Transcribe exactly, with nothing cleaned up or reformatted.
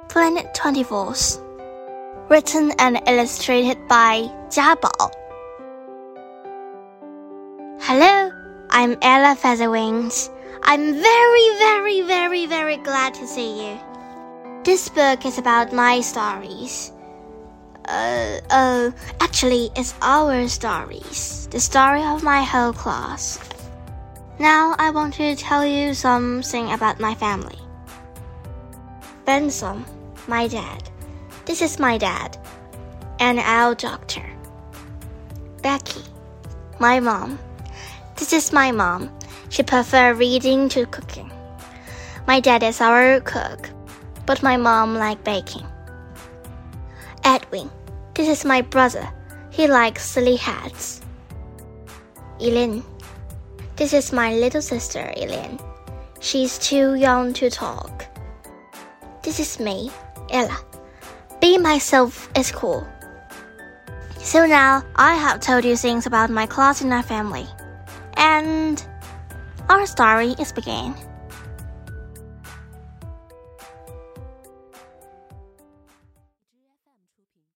Planet twenty-four. Written and illustrated by Jia Bao. Hello, I'm Ella Featherwings. I'm very, very, very, very glad to see you. This book is about my stories. Uh, uh, actually, it's our stories. The story of my whole class. Now I want to tell you something about my family. Benson, my dad. This is my dad, and our doctor. Becky, my mom. This is my mom. She prefers reading to cooking. My dad is our cook, but my mom likes baking. Edwin, this is my brother. He likes silly hats. Elaine, this is my little sister, Elaine. She's too young to talk. This is me, Ella. Being myself is cool. So now I have told you things about my class and our family. And our story is beginning.